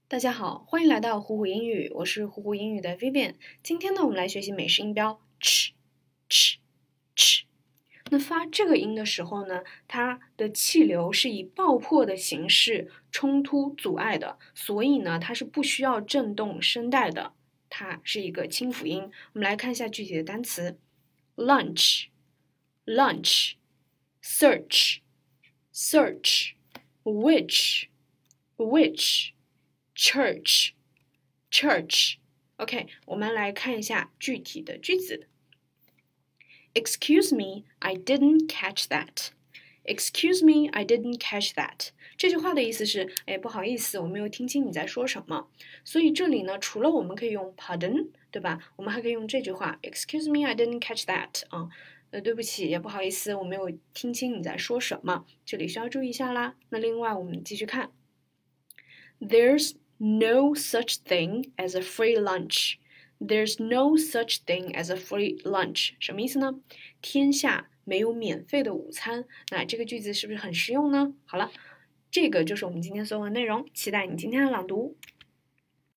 大家好，欢迎来到虎虎英语，我是虎虎英语的 Vivian。今天呢，我们来学习美式音标 ch。那发这个音的时候呢，它的气流是以爆破的形式冲突阻碍的，所以呢，它是不需要震动声带的，它是一个清辅音。我们来看一下具体的单词 lunch，search，search，witch，church。OK， 我们来看一下具体的句子。Excuse me, I didn't catch that. Excuse me, I didn't catch that. 这句话的意思是，不好意思，我没有听清你在说什么。所以这里呢，除了我们可以用 pardon， 对吧？我们还可以用这句话 Excuse me, I didn't catch that. 对不起，也不好意思，我没有听清你在说什么。这里需要注意一下啦。那另外我们继续看 There's no such thing as a free lunch.There's no such thing as a free lunch. 什么意思呢？天下没有免费的午餐。那这个句子是不是很实用呢？好了，这个就是我们今天所有的内容，期待你今天的朗读。